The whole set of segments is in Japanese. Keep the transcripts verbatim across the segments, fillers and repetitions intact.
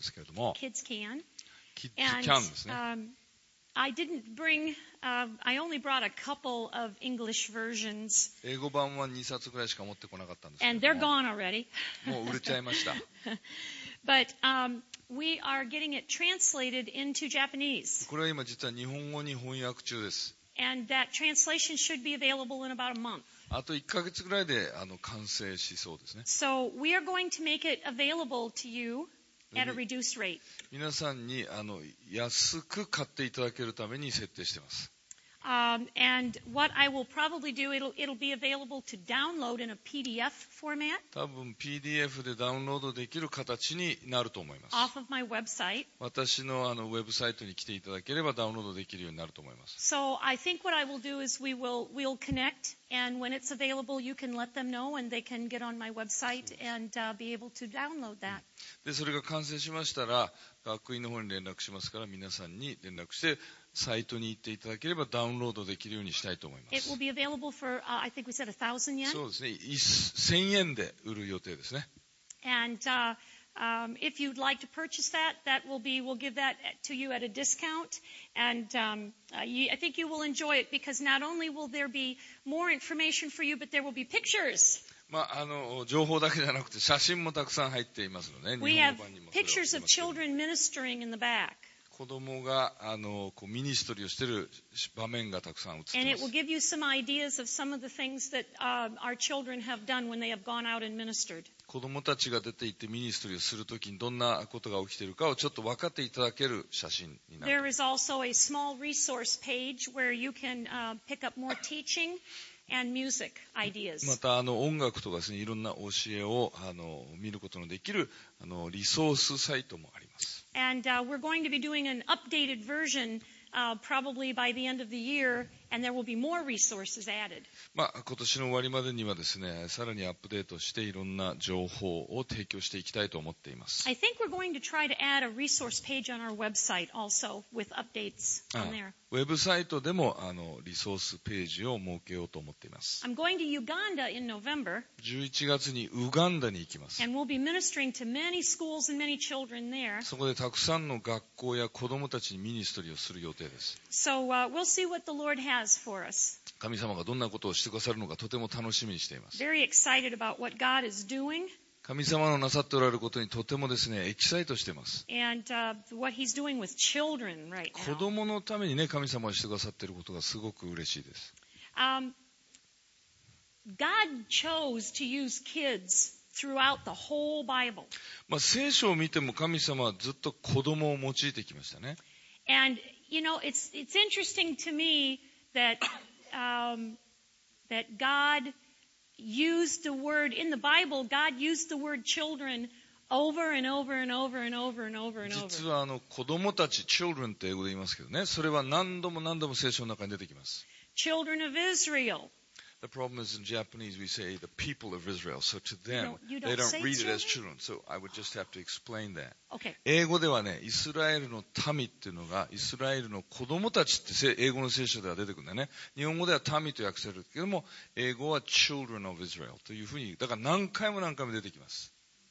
ですけれども、 Kids can. キッズ And キャンですね。 um, I didn't bring, uh, I only brought a couple of English versions, 英語版はにさつぐらいしか持ってこなかったんですけ and れ they're ども、 gone already. もう売れちゃいました。 But um, we are getting it translated into Japanese. これは今実は日本語に翻訳中です。 And that translation should be available in about a month. あといっかげつぐらいであの完成しそうですね。 So we are going to make it available to you at a reduced rate. 皆さんにあの安く買っていただけるために設定しています。 Um, and what I will probably do, it'll, it'll be available to download in a P D F format 多分 ピーディーエフ でダウンロードできる形になると思います。 off of my website. 私のあのウェブサイトに来ていただければダウンロードできるようになると思います。 So I think what I will do is we will we'll connect, and when it's available, you can let them know, and they can get on my website and uh, be able to download that. でそれが完成しましたら学院の方に連絡しますから皆さんに連絡してサイトに行っていただければダウンロードできるようにしたいと思いま It す。 will be available for, uh, I think we said one thousand yen. そうですね、せんえんで売る予定ですね。 And uh, um, if you'd like to purchase that, that will be, we'll give that to you at a discount. And um, uh, you, I think you will enjoy it because not only will there be more information for you, but there will be pictures. まあ、あの情報だけじゃなくて写真もたくさん入っていますので、 We 日 have 本語版にもそれを載 pictures せ of ますけど children ministering in the back. 子供があのこうミニストリーをしている場面がたくさん映って And い it ま will す。 give you some ideas of some of the things that uh, our children have done when they have gone out and ministered. 子供たちが出て行ってミニストリーをするときにどんなことが起きているかをちょっと分かっていただける写真になると There is also a small resource page where you can uh, pick up more teaching and music ま ideas. たあの音楽とかですね、いろんな教えをあの見ることのできるあのリソースサイトもあります。 And uh, we're going to be doing an updated version uh, probably by the end of the year, and there will be more resources added. まあ、今年の終わりまでにはですね、さらにアップデートしていろんな情報を提供していきたいと思っています。 I think we're going to try to add a resource page on our website also with updates あ on there. ウェブサイトでもあのリソースページを設けようと思っています。 I'm going to Uganda in November, じゅういちがつにウガンダに行きます。 and we'll be ministering to many schools and many children there. そこでたくさんの学校や子どもたちにミニストリーをする予定です。 So uh, we'll see what the Lord has for us. 神様がどんなことをしてくださるのかとても楽しみにしています。 Very excited about what God is doing 神様のなさっておられることにとてもですね、エキサイトしています。 and uh, what He's doing with children right 子 now. 供のためにね、神様がしてくださっていることがすごく嬉しいです。 Um, God chose to use kids throughout the whole Bible. まあ、聖書を見ても神様はずっと子供を用いてきましたね。 And, you know, it's, it's interesting to me that, um, that God used the word, in the Bible, God used the word children over and over and over and over and over and 実 over. はあの子供たち、children って英語で言いますけどね、それは何度も何度も聖書の中に出てきます。 Children of Israel. The problem is in Japanese we say the people of Israel, so to them You don't- you they don't don't say read it as children? children, so I would just have to explain that. Okay. 英語ではね、イスラエルの民っていうのがイスラエルの子供たちってせ英語の聖書では出てくるんだよね。日本語では民と訳されるけども、英語は children of Israel というふうに、だから何回も何回も出てきます。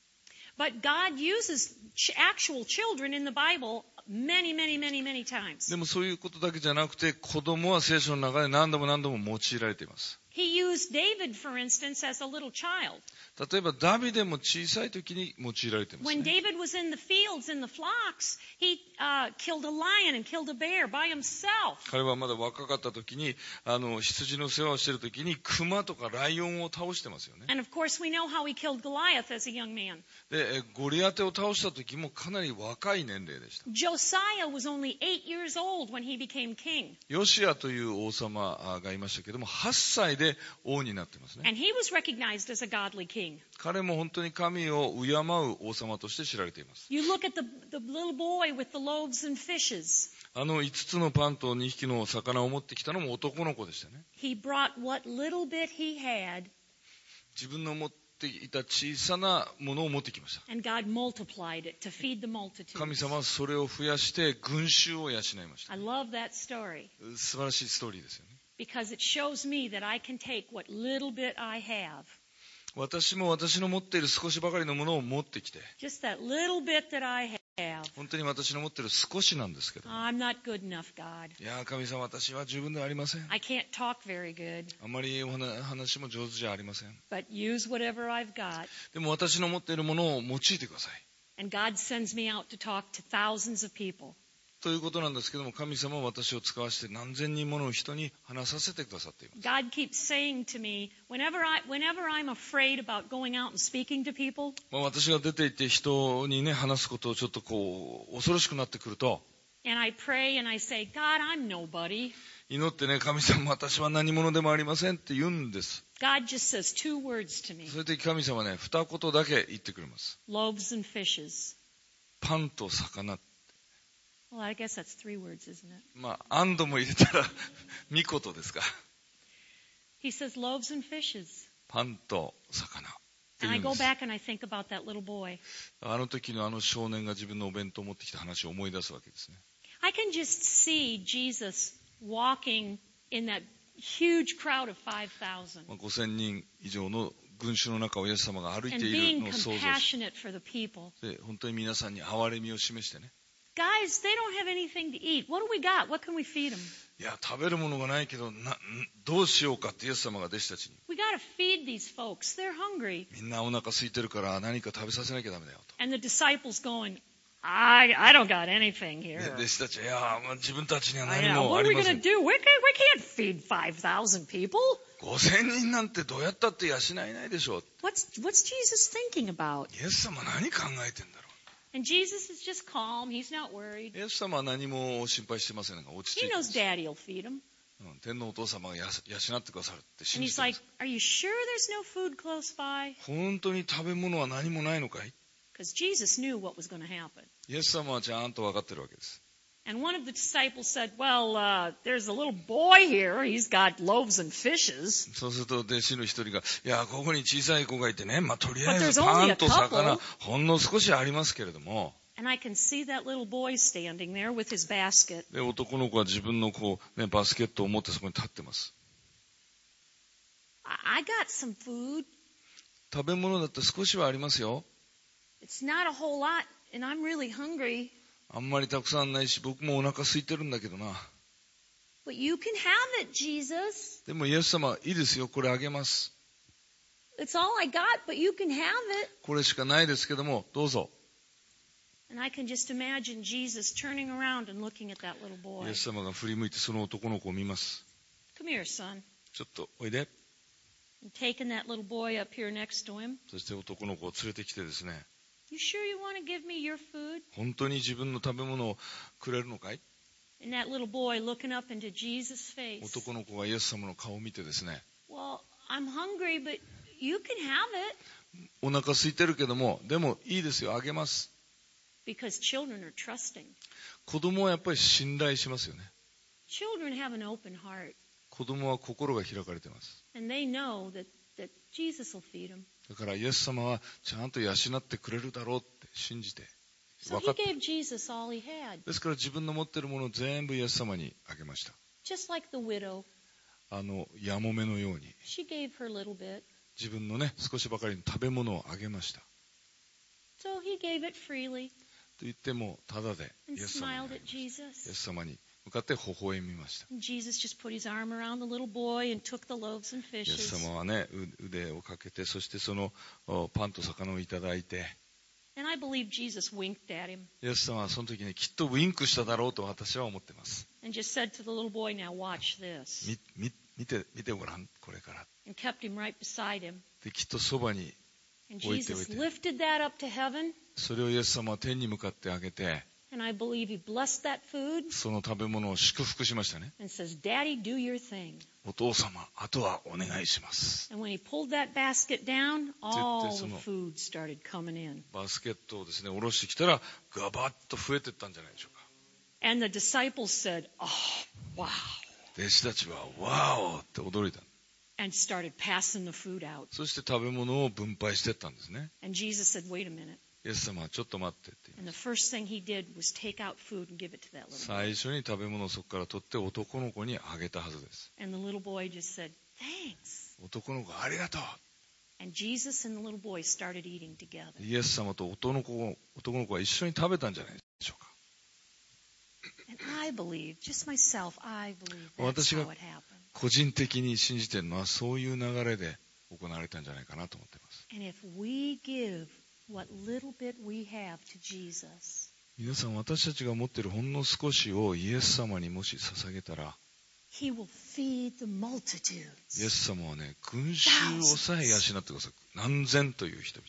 But God uses ch- actual children in the Bible many, many, many, many times. でもそういうことだけじゃなくて、子供は聖書の中で何度も何度も用いられています。 He used David, for instance, as a little child. 例えばダビデも小さい時に用いられています When ね。 David was in the fields, in the flocks, he uh, killed a lion and killed a bear by himself. 彼はまだ若かった時に、あの羊の世話をしている時に熊とかライオンを倒してますよね。 And of course, we know how he killed Goliath as a young man. で、えゴリアテを倒した時もかなり若い年齢でした。 Josiah was only eight years old when he became king. ヨシアという王様がいましたけども、はっさいで王になってますね。 And he was recognized as a godly king. 彼も本当に神を敬う王様として知られています。 You look at the, the little boy with the loaves and fishes. あのいつつのパンとにひきの魚を持ってきたのも男の子でしたね。 He brought what little bit he had, 自分の持っていた小さなものを持ってきました。 and God multiplied it to feed the multitude. 神様はそれを増やして群衆を養いました。 I love that story 素晴らしいストーリーですよね。 because it shows me that I can take what little bit I have 私も私の持っている少しばかりのものを持ってきて、 Just that little bit that I have. 本当に私の持っている少しなんですけど、 Oh, I'm not good enough, God. いやー神様、私は十分ではありません。 I can't talk very good. あまりお話話も上手じゃありません。 But use whatever I've got. でも私の持っているものを用いてください And God sends me out to talk to thousands of people. ということなんですけども、神様は私を使わせて何千人もの人に話させてくださっています。 God keeps saying to me, whenever, I, whenever I'm afraid about going out and speaking to people, まあ、私が出て行って人にね話すことをちょっとこう恐ろしくなってくると、 and I pray and I say, God, I'm nobody. 祈ってね、神様、私は何者でもありませんって言うんです。 God just says two words to me, それで神様はね、二言だけ言ってくれます。 loaves and fishes. パンと魚。 Well, I guess that's three words, isn't it? まあ、アンドも入れたら、見事ですか。 He says loaves and fishes. パンと魚。って And 言 I うんで go す。 back and I think about that little boy. あの時のあの少年が自分のお弁当を持ってきた話を思い出すわけですね。 I can just see Jesus walking in that huge crowd of five thousand まあ、ごせんにん以上の群衆の中をイエス様が歩い and ている being のを想像し compassionate for the people. て、本当に皆さんに憐れみを示してね。 Guys, they don't have anything to eat. What do we got? What can we feed them? いや、食べるものがないけどな、どうしようかってイエス様が弟子たちに。 We got to feed these folks. They're hungry. みんなお腹空いてるから何か食べさせなきゃダメだよと。 And the disciples going, I, I don't got anything で here. 弟子たちは、いや、まあ、自分たちには I 何 know. も What あ are り we ませ going ん。 to do? We, can, we can't feed five thousand people. ごせんにんなんてどうやったって養えないでしょう。 What's, what's Jesus thinking about? イエス様何考えてんだろ And Jesus is just calm. He's not worried. う。イエス様は何も心配してませんが、落ち着 He いてま knows す。 Daddy will feed him. うん、天皇お父様がや養ってくださるって信 And じ he's てま like, す。 are you sure there's no food close by? 本当に食べ物は何もないのかい？ Because Jesus knew what was going to happen. イエス様はちゃんと分かってるわけです。 And one of the disciples said, well, uh, there's a little boy here. He's got loaves and fishes. そうすると弟子の一人が、いや、ここに小さい子がいてね、まあ、とりあえ But ず there's パ only ン a と魚 couple.、 ほんの少しありますけれども、 And I can see that little boy standing there with his basket. で、男の子は自分のこう、ね、バスケットを持ってそこに立ってます。 I, I got some food. 食べ物だって少しはありますよ。 It's not a whole lot, and I'm really hungry. あんまりたくさんないし、僕もお腹空いてるんだけどな。 But you can have it, Jesus. でもイエス様、いいですよ、これあげます。 It's all I got, but you can have it. これしかないですけども、どうぞ。 And I can just imagine Jesus turning around and looking at that little イ boy. エス様が振り向いてその男の子を見ます。 Come here, son. ちょっとおいで。 And taking that little boy up here next to him. そして男の子を連れてきてですね、 You sure you want to give me your food? 本当に自分の食べ物をくれるのかい？ And that little boy looking up into Jesus' face. 男の子がイエス様の顔を見てですね、 Well, I'm hungry, but you can have it. お腹空いてるけども、でもいいですよ、あげます。 Because children are trusting. 子供はやっぱり信頼しますよね。 Children have an open heart. 子供は心が開かれています。 And they know that, that Jesus will feed them. だからイエス様はちゃんと養ってくれるだろうって信じて、 So 分 he かって、 gave Jesus all he had. ですから自分の持っているものを全部イエス様にあげました。 Just like the widow. あのやもめのように She gave her little bit. 自分のね少しばかりの食べ物をあげました。 So he gave it freely と言ってもただでイ and エス様にあ smiled げ at ました。イエ Jesus. ス様に向かって微笑みました。 And Jesus just put his arm around the little boy and took the loaves and イエス fishes. 様はねう腕をかけて、そしてそのおパンと魚をいただいて、 And I believe Jesus winked at him イエス様はその時にきっとウインクしただろうと私は思ってます。 and just said to the little boy, now watch this. みみ見て見てごらん、これから。 And kept him right beside him. できっとそばに And 置いておい Jesus て、 lifted that up to heaven. それをイエス様は天に向かってあげて、 And I believe he blessed that food その食べ物を祝福しましたね。 and says, Daddy, do your thing. お父様、あとはお願いします。 And when he pulled that basket down, all the その food started coming in. バスケットをですね下ろしてきたらガバッと増えていったんじゃないでしょうか。 And the disciples said, oh, wow. 弟子たちはワーオって驚いた。 And started passing the food out. そして食べ物を分配していったんですね。 And Jesus said, wait a minute. イエス様はちょっと待ってって言い And ま the す。 first thing he did was take out food and give it to that little boy. 最初に食べ物をそこから取って男の子にあげたはずです。 And the little boy just said, thanks. 男の子ありがとう。 And Jesus and the little boy started eating together. イエス様と男の子、男の子は一緒に食べたんじゃないでしょうか。 And I believe, just myself, I believe that's how it happened. 個人的に信じているのはそういう流れで行われたんじゃないかなと思っています。 And if we give what little bit we have to Jesus, 皆さん、私たちが持っているほんの少しをイエス様にもし捧げたら、 He will feed the multitudes. イエス様はね、群衆をさえ養ってください。何千という人々。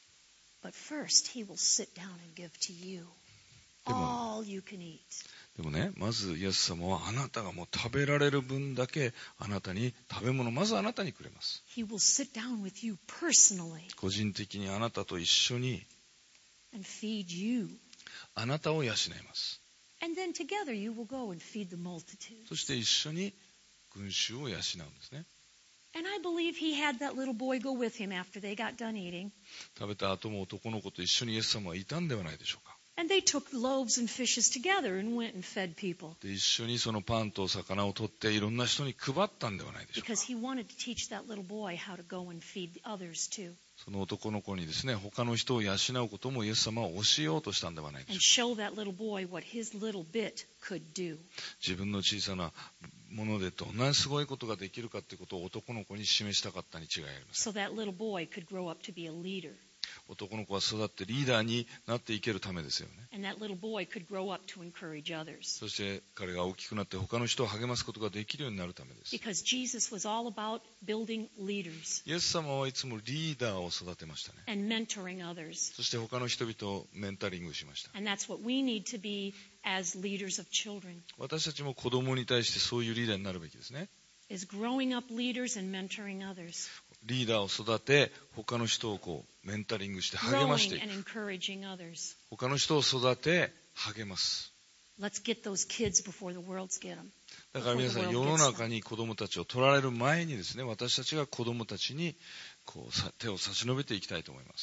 But first, He will sit down and give to you でも、 all you can eat. でもね、まずイエス様はあなたがもう食べられる分だけあなたに食べ物、まずあなたにくれます。 He will sit down with you personally 個人的にあなたと一緒に and feed you. あなたを養います。 And then together you will go and feed the multitudes. そして一緒に群衆を養うんですね。 And I believe he had that little boy go with him after they got done eating. 食べた後も男の子と一緒にイエス様はいたんではないでしょうか。 And they took loaves and fishes together and went and fed people. で、一緒にそのパンと魚を取っていろんな人に配ったんではないでしょうか。 Because he wanted to teach that little boy how to go and feed others too. その男の子にですね、他の人を養うこともイエス様は教えようとしたんではないで And しょう show that little boy what his little bit could do. か。自分の小さなものでどんなすごいことができるかということを男の子に示したかったに違いありません。 So that little boy could grow up to be a leader. 男の子は育ってリーダーになっていけるためですよね。 And that little boy could grow up to encourage others. そして彼が大きくなって他の人を励ますことができるようになるためです。 Because Jesus was all about building leaders イエス様はいつもリーダーを育てましたね。 and mentoring others. そして他の人々をメンタリングしました。 And that's what we need to be as leaders of children, 私たちも子供に対してそういうリーダーになるべきですね。 is growing up leaders and mentoring others. リーダーを育て、他の人をこうメンタリングして励まして Growing いく。 and encouraging others. 他の人を育て、励ます。 Let's get those kids before the world get them. だから皆さん、世の中に子供たちを取られる前にですね、私たちが子供たちにこうさ手を差し伸べていきたいと思います。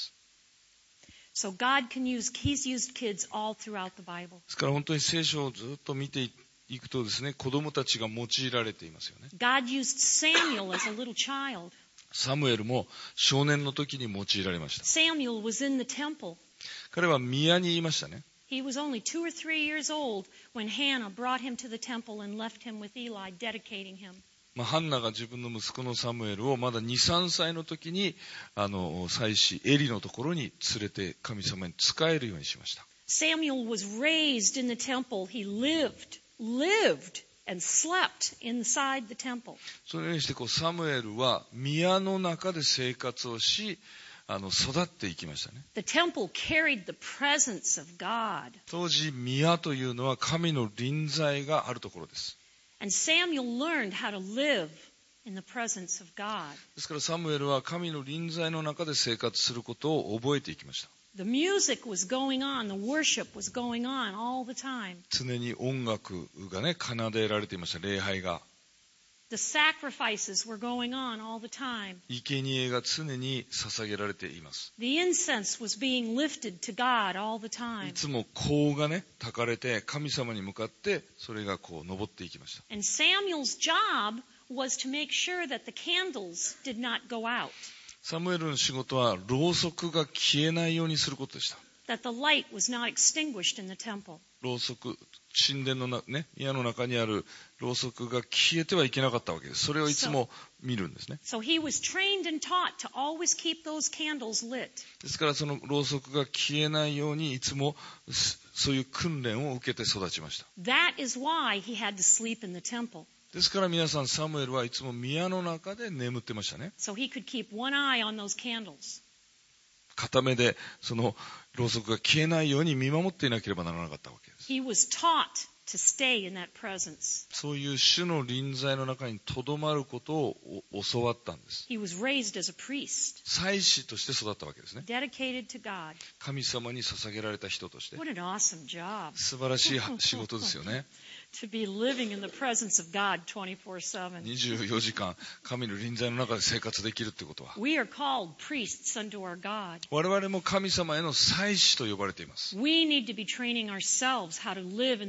So God can use, He's used kids all throughout the Bible. ですから本当に聖書をずっと見ていくとですね、子供たちが用いられていますよね。 God used Samuel as a little child. サムエルも少年の時に用いられました。 Samuel was in the temple. 彼は宮にいましたね。 He was only two or three years old when Hannah brought him to the temple and left him with Eli, dedicating him. まあ、ハンナが自分の息子のサムエルをまだに、さんさいの時にあの祭司エリのところに連れて神様に仕えるようにしました。 Samuel was raised in the temple. He lived, lived, and slept inside the temple. そのようにしてこうサムエルは宮の中で生活をし、あの育っていきましたね。 The temple carried the presence of God. 当時宮というのは神の臨在があるところです。 And Samuel learned how to live in the presence of God. ですからサムエルは神の臨在の中で生活することを覚えていきました。 The music was going on, the worship was going on all the time. 常に音楽がね奏でられていました。礼拝が、 The sacrifices were going on all the time. 生贄が常に捧げられています。 The incense was being lifted to God all the い time. つも香がね焚かれて神様に向かってそれがこう昇っていきました。 And Samuel's job was to make sure that the candles did not go out, サムエルの仕事はろうそくが消えないようにすることでした。 that the light was not extinguished in the temple. ろうそく、神殿のな、ね、宮の中にあるろうそくが消えてはいけなかったわけです。それをいつも見るんですね。 So he was trained and taught to always keep those candles lit. ですからそのろうそくが消えないようにいつもそういう訓練を受けて育ちました。 That is why he had to sleep in the temple. ですから皆さん、サムエルはいつも宮の中で眠ってましたね。 So he could keep one eye on those candles. 片目でそのろうそくが消えないように見守っていなければならなかったわけです。 He was taught to stay in that presence. そういう主の臨在の中にとどまることを教わったんです。 He was raised as a priest, 祭司として育ったわけですね。 dedicated to God. 神様に捧げられた人として。 What an awesome job 素晴らしい仕事ですよね。 to be living in the presence of God twenty-four seven. にじゅうよじかん神の臨在の中で生活できるということは、 We are called priests unto our God. 我々も神様への祭司と呼ばれています。 We need to be training ourselves how to live in the presence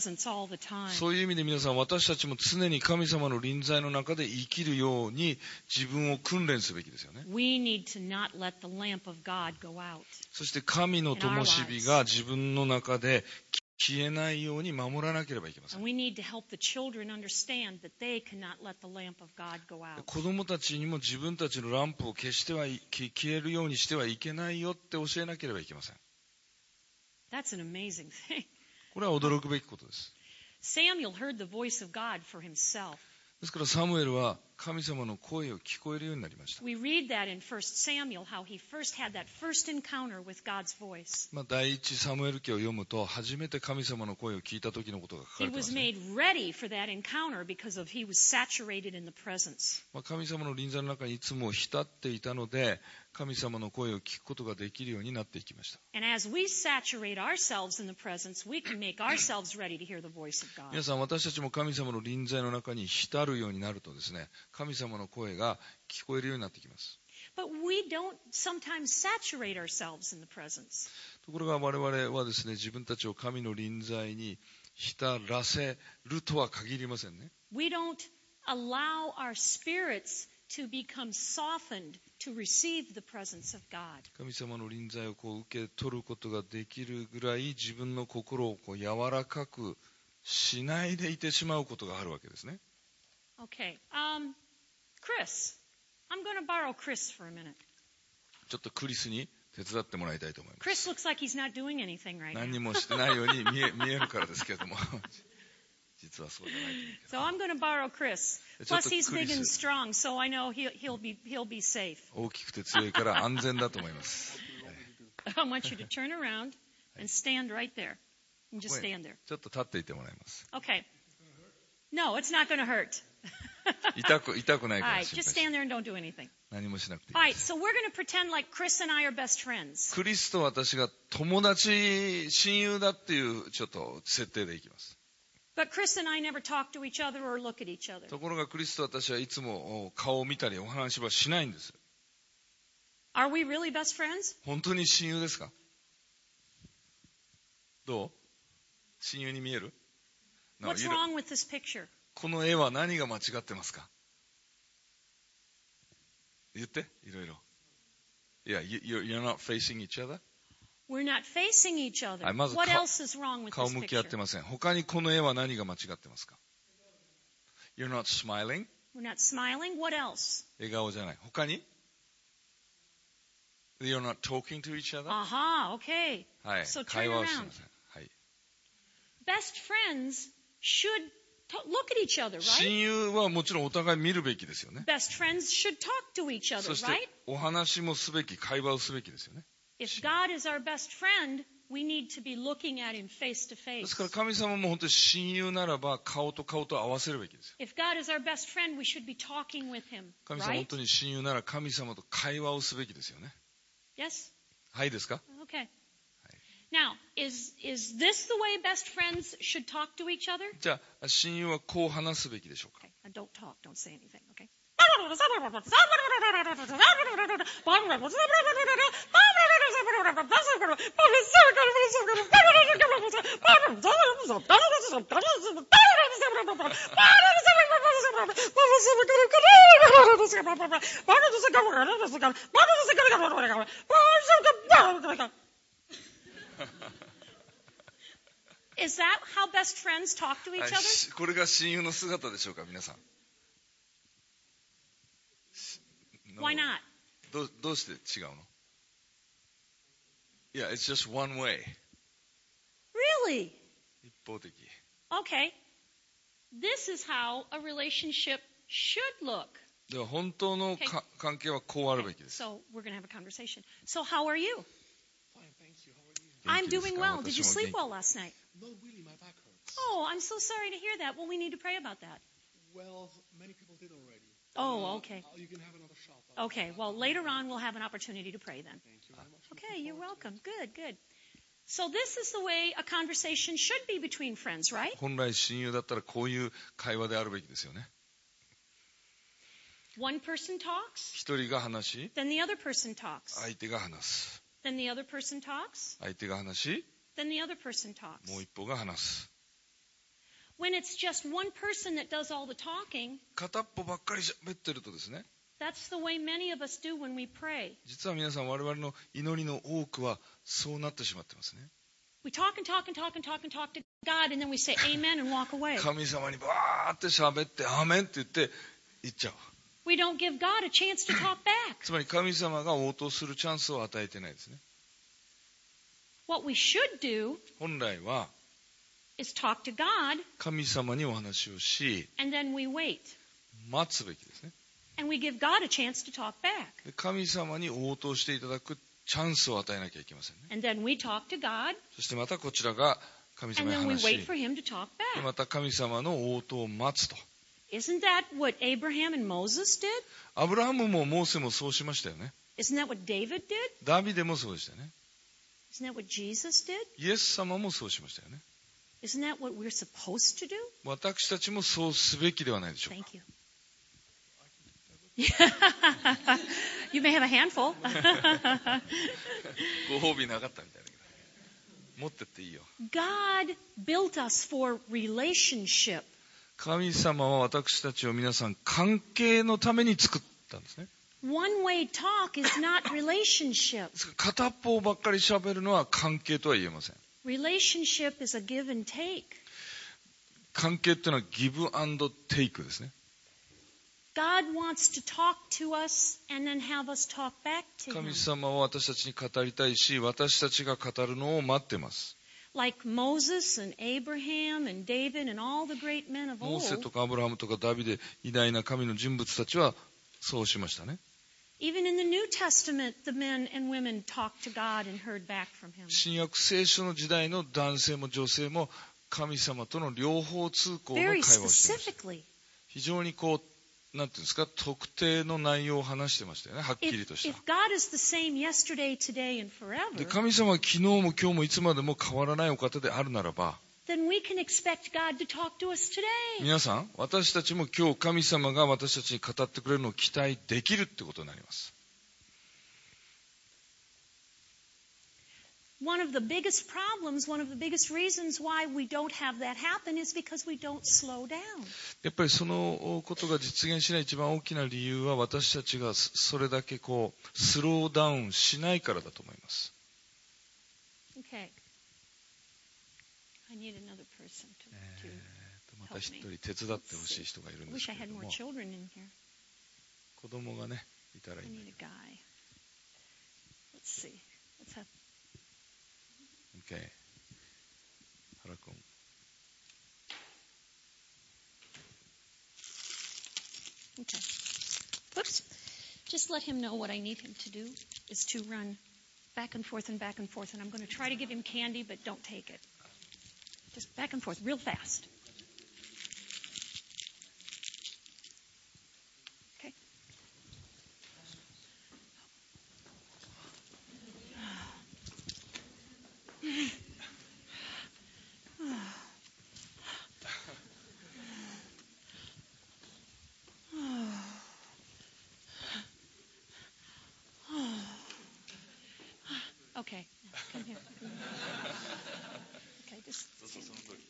presence all the time. そういう意味で皆さん、私たちも常に神様の臨在の中で生きるように自分を訓練すべきですよね。 We need to not let the lamp of God go out. そして神の灯火が自分の中で消えないように守らなければいけません。 And we need to help the children understand that they cannot let the lamp of God go out. 子供たちにも自分たちのランプを消してはい消えるようにしてはいけないよって教えなければいけません。 That's an amazing thing. これは驚くべきことです。 Samuel heard the voice of God for himself. ですからサムエルは神様の声を聞こえるようになりました。 We read that in First Samuel, how he first had that first encounter with God's voice. まあ、第一サムエル記を読むと初めて神様の声を聞いた時のことが書か He れてま was すね。 made ready for that encounter because of he was saturated in the presence. まあ、神様の臨在の中にいつも浸っていたので神様の声を聞くことができるようになっていきました。 And as we saturate ourselves in the presence, we can make ourselves ready to hear the voice of God. 皆さん、私たちも神様の臨在の中に浸るようになるとですね、神様の声が聞こえるようになってきます。 But we don't sometimes saturate ourselves in the presence. ところが我々はですね、自分たちを神の臨在に浸らせるとは限りませんね。 We don't allow our spirits to become softened to receive the presence of God. 神様の臨在をこう受け取ることができるぐらい自分の心をこう柔らかくしないでいてしまうことがあるわけですね。 Okay. Um, Chris. I'm going to borrow Chris for a minute. ちょっとクリスに手伝ってもらいたいと思います。 Chris looks like he's not doing anything right 何 now. もしてないように見え、見えるからですけれども実はそうじゃないと思うけ So I'm going to borrow Chris. ど。ちょっ Plus と he's クリ big and ス strong, so I know he'll, he'll be he'll be safe. 大きくて強いから安全だと思います。 I want you to turn around and stand right there. And just stand there. ちょっと立っていてもらいます。 Okay. No, it's not going to hurt. 痛く、痛くない All から right, 心 just 配し stand there and don't do anything. 何もしなくてい All い right, です。 so we're going to pretend like Chris and I are best friends. クリスと私が友達、親友だっていうちょっと設定でいきます。 But Chris and I never talk to each other or look at each other. ところがクリスと私はいつも顔を見たりお話はしないんです。 Are we really best friends? 本当に親友ですか？どう？親友に見える？ No, What's you don't- wrong with this picture? この絵は何が間違ってますか？言って、いろいろ。Yeah, you, you're, you're not facing each other? We're not facing each other. はい、まず What か else is wrong with 顔 this 向き合って picture? ません。他にこの絵は何が間違ってますか？ You're not smiling? We're not smiling. What else? 笑顔じゃない。他に You're not talking to each other? Aha, okay. はい So turn 会話をして around. ません。はい Best friends should to- look at each other, right? 親友はもちろんお互い見るべきですよね。 Best friends should talk to each other, そし right? てお話もすべき、会話をすべきですよね。 If God is our best friend, we need to be looking at him face to で face. すから神様も本当に親友ならば顔と顔と合わせるべきですよ。 If God is our best friend, we should be talking with him, 神様本 right? 当に親友なら神様と会話をすべきですよね。 Yes? はいですか？ Okay. Now, is is this the way best friends should talk to each other? じゃあ親友はこう話すべきでしょうか？ Okay. Now don't talk. Don't say anything. Okay. Is that how best friends talk to each はい other? しこれが親友の姿でしょうか皆さん。 Why not? どうどうして違うの？ Yeah, it's just one way. Really? 一方的。 Okay. This is how a relationship should look. では本当のか関係はこうあるべきです。 So we're going to have a conversation. So how are you? Fine, thank you. How are you? I'm 元気ですか？ doing well. Did you 私も sleep 元 well last night? Not really, my back hurts. Oh, I'm so sorry to hear that. Well, we need to pray about that. Well, many people did already. Oh, Uh, okay. uh, You can have another shot. I'll- Okay, well, later on we'll have an opportunity to pray then. Thank you very much. Okay, you're welcome. Good, good. So this is the way a conversation should be between friends, right? 本来親友だったらこういう会話であるべきですよね。 One person talks, 一人が話し、 then the other person talks. 相手が話す。 Then the other person talks, 相手が話し、 then the other person talks. もう一方が話す。 when it's just one person that does all the talking, 片っぽばっかり喋ってるとですね、 that's the way many of us do when we pray. 実は皆さん我々の祈りの多くはそうなってしまってますね。 We talk and talk and talk and talk and talk to God, and then we say amen and walk away. 神様にバーって喋ってアーメンって言って言っちゃう。 We don't give God a chance to talk back. つまり神様が応答するチャンスを与えてないですね。 What we should do 本来は is talk to God, 神様にお話をし and then we wait. 待つべきですね。 And we give God a chance to talk back. で神様に応答していただくチャンスを与えなきゃいけませんね。 And then we talk to God, そしてまたこちらが神 and 様に then we 話し wait for Him to talk で back. また神様の応答を待つと。 Isn't that what Abraham and Moses did? アブラハムもモーセもそうしましたよね。 Isn't that what David did? ダビデもそうでしたよね。 Isn't that what Jesus did? イエス様もそうしましたよね。 Isn't that what we're supposed to do? 私たちもそうすべきではないでしょうか。 Thank you. You may have a handful. ご褒美なかったみたいだけど。持ってっていいよ。 God built us for relationship. 神様は私たちを皆さん関係のために作ったんですね。 One-way talk is not relationship. ですから片っぽばっかり喋るのは関係とは言えません。 Relationship is a give and take. 関係っていうのはギブアンドテイクですね。 God wants to talk to us and then have us talk back to 神 Him. 様は私たちに語りたいし、私たちが語るのを待っています。 Like Moses and Abraham and David and all the great men of モーセ old. とかアブラハムとかダビデ、偉大な神の人物たちはそうしましたね。 Even in the New Testament, the men and women talked to God and heard back from Him. 新約聖書の時代の男性も女性も神様との両方通行の会 Very 話をしていました。 specifically. 非常にこう、なんていうんですか、特定の内容を話してましたよね。はっきり If, とした if。God is the same yesterday, today, and で、 forever, 神様は昨日も今日もいつまでも変わらないお方であるならば、 then we can expect God to talk to us today. 皆さん、私たちも今日神様が私たちに語ってくれるのを期待できるってことになります。 One of the biggest problems, one of the biggest reasons why we don't have that happen is because we don't slow down. やっぱりそのことが実現しない一番大きな理由は私たちがそれだけこうスローダウンしないからだと思います。 Okay. I need another person to, え to ーとまた一人手伝ってほしい人がいるん I です wish I けれ had ど more も、 children in here. 子供がねいたらい I いんだ need け a guy. Let's see. Let's have. ど。OK。原君。 Okay. Whoops. Just let him know what I need him to do is to run back and forth and back and forth. And I'm going to try to give him candy, but don't take it. Just back and forth, real fast. Okay. Okay. Come here. Okay, just stand.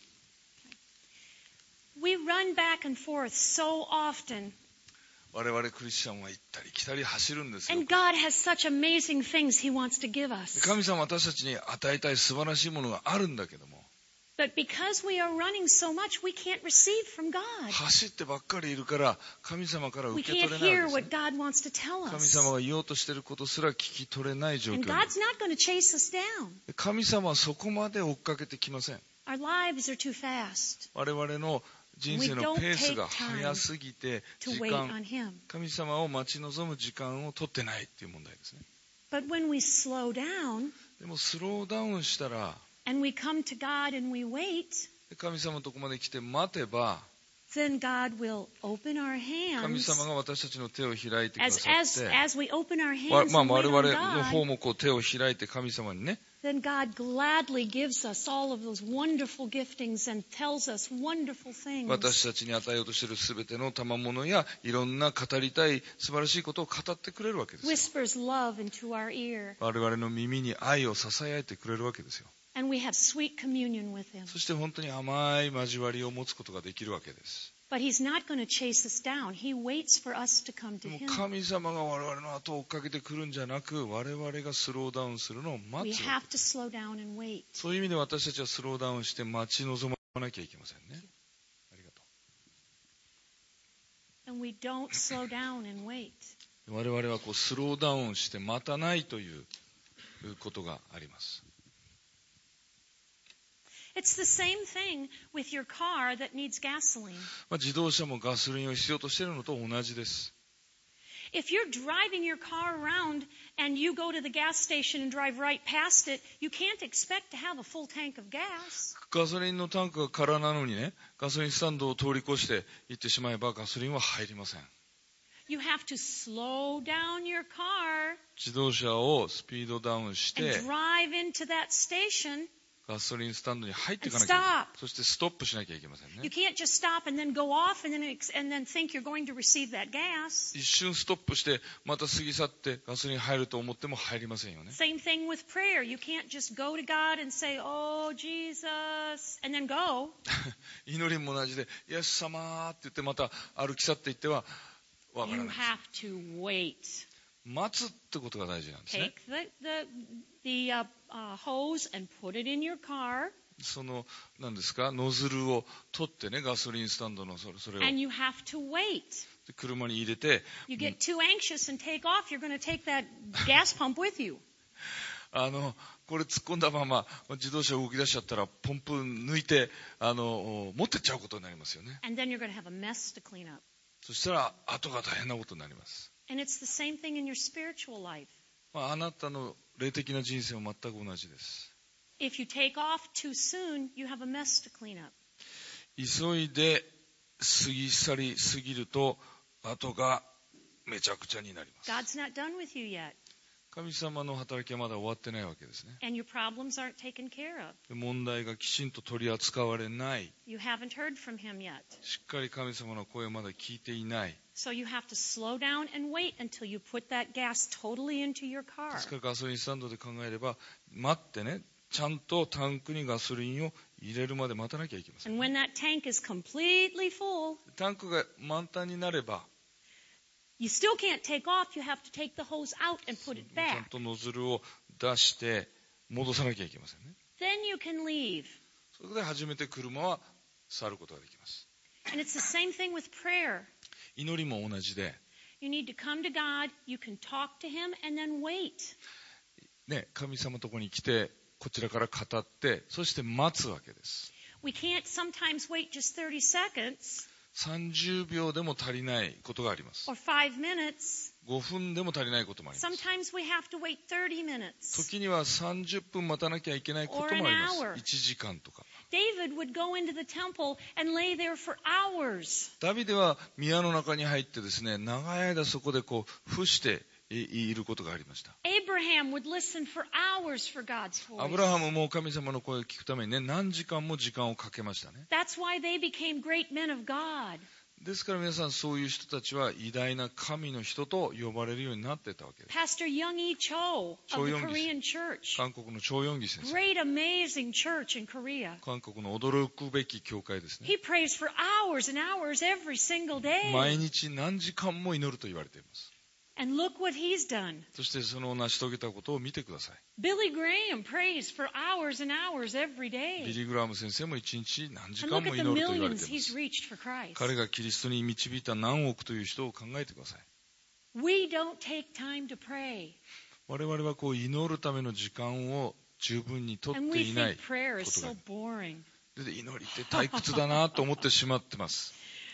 We run back and forth so often, 我々クリスチャンは行ったり来たり走るんですよ。 and God has such amazing things He wants to give us. 神様は私たちに与えたい素晴らしいものがあるんだけども、 But because we are running so much, we can't receive from God. 走ってばっかりいるから神様から We 受け can't 取れない hear わけ what ですね。 God wants to tell 神 us. 様が言おうとしていることすら聞き取れない状況 And に。 God's not going to chase us down. 神様はそこまで追っかけてきません。 Our lives are too fast 我々の人生のペースが速すぎて to 時 wait 間 on Him. 神様を待ち望む時間を取ってないっていう問題ですね。 But when we slow down でもスローダウンしたら and we come to God and we wait, 神様のとこまで来て待てば then God will open our 神 hands. 様が私たちの手を開いてくだ As, さ as, って as we open our わ hands まあ and 我 wait 々 on の方 God, もこう手を開いて神様にね then God gladly gives us all of those wonderful giftings and tells us wonderful things. 私たちに与えようとしているすべての賜物やいろんな語りたい素晴らしいことを語ってくれるわけですよ。 Whispers love into our ear. 我々の耳に愛を囁いてくれるわけですよ。 And we have sweet communion with him. そして本当に甘い交わりを持つことができるわけです。 But he's not going to chase us down. He waits for us to come で to も him. 神様が我々の後を追っかけてくるんじゃなく、我々がスローダウンするのを We 待つ。 have to slow down and wait. そういう意味で私たちはスローダウンして待ち望まなきゃいけませんね。ありがと And we don't slow down and wait. う。我々はこうスローダウンして待たないということがあります。 It's the same thing with your car that needs gasoline. まあ、自動車もガソリンを必要としているのと同じです。 If you're driving your car around and you go to the gas station and drive right past it, you can't expect to have a full tank of gas. ガソリンのタンクが空なのにね、ガソリンスタンドを通り越して行ってしまえばガソリンは入りません。 You have to slow down your car 自動車をスピードダウンし and て drive into that station. ガソリンスタンドに入っていかなきゃいけない。 And stop. そしてストップしなきゃいけません You ね。 can't just stop and then go off and then ex- and then think you're going to receive that gas. 一瞬ストップしてまた過ぎ去ってガソリン入ると思っても入りませんよね。 Same thing with prayer. You can't just go to God and say, "Oh, Jesus," and then go. 祈りも同じでイエス様って言ってまた歩き去っていってはわから You ない。 have to wait. 待つってことが大事なんですね。 Take the the the uh, uh, hose and put it in your car, その何ですか、ノズルを取ってね、ガソリンスタンドのそれそれを and you have to wait. で車に入れて、 You get too anxious and take off, you're going to take that gas pump with you. あのこれ突っ込んだまま自動車動き出しちゃったらポンプ抜いてあの持ってっちゃうことになりますよね。 And then you're going to have a mess to clean up. そしたら後が大変なことになります。 And it's the same thing in your spiritual life. まあ、あなたの霊的な人生も全く同じです。 If you take off too soon, you have a mess to clean up. 急いで過ぎ去りすぎると後がめちゃくちゃになります。 God's not done with you yet, 神様の働きはまだ終わってないわけですね。 and your problems aren't taken care of. で問題がきちんと取り扱われない、 You haven't heard from Him yet. しっかり神様の声をまだ聞いていない。 So you have to slow down and wait until you put that gas totally into your で car. すからガソリンスタンドで考えれば待ってね、ちゃんとタンクにガソリンを入れるまで待たなきゃいけません。 And when that tank is completely full, タンクが満タンになれば you still can't take off. You have to take the hose out and put it ちゃん back. とノズルを出して戻さなきゃいけませんね。 Then you can leave. それで初めて車は去ることができます。 And it's the same thing with prayer. 祈りも同じで、 You need to come to God. You can talk to Him and then wait. ね、神様のところに来てこちらから語ってそして待つわけです。 We can't sometimes wait just thirty seconds さんじゅうびょうでも足りないことがあります。 or five minutes. ごふんでも足りないこともあります。 Sometimes we have to wait thirty minutes. 時にはさんじゅっぷん待たなきゃいけないこともありま Or an hour. す。いちじかんとか。 David would go into the temple and lay there for hours. ダビデは宮の中に入ってですね、長い間そこでこう伏していることがありました。 Abraham would listen for hours for God's ア voice. ブラハムも神様の声を聞くためにね、何時間も時間をかけましたね。 That's why they became great men of God. ですから皆さん、そういう人たちは偉大な神の人と呼ばれるようになっていたわけです。 Pastor Young-E Cho of the Cho Young-gi. Korean church. 韓国のチョウヨンギ先生、 Great, amazing church in Korea. 韓国の驚くべき教会ですね。 He prays for hours and hours every single day. 毎日何時間も祈ると言われています。 And look what he's done. そしてその成し遂げたことを見てください。 Billy Graham prays for hours and hours every ビ day. リー・グラム先生も一日何時 And 間 look も at 祈 the ると言われ millions ていま he's す。 reached for Christ. 彼がキリストに導いた何億という人を考えてください。 We don't take time to pray. 我々はこう祈るための時間を十分にとっ And て we いない think prayer こ is とが so boring. で祈りって退屈だなと思ってしまってます。